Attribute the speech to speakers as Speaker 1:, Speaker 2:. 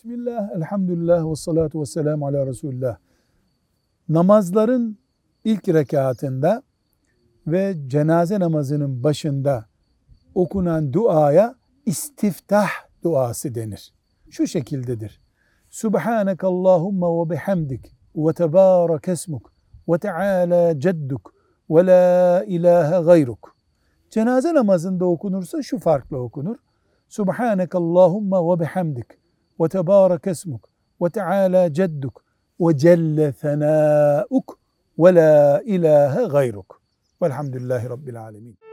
Speaker 1: Bismillah, elhamdülillah ve salatu ve selamu ala Resulullah. Namazların ilk rekatında ve cenaze namazının başında okunan duaya istiftah duası denir. Şu şekildedir. Subhanekallahumma ve bihamdik ve tebârek esmuk ve teâlâ cedduk ve la ilahe gayruk. Cenaze namazında okunursa şu farklı okunur. Subhanekallahumma ve bihamdik ve tebârek esmuk ve teâlâ cedduk ve celle senâuk ve la ilahe gayruk. Velhamdülillahi Rabbil alemin.